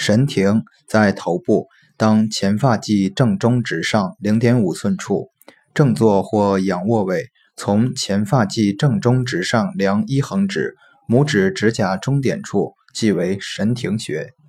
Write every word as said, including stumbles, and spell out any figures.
神庭在头部，当前发际正中直上 零点五寸处，正坐或仰卧位，从前发际正中直上量一横指，拇指指甲中点处，即为神庭穴。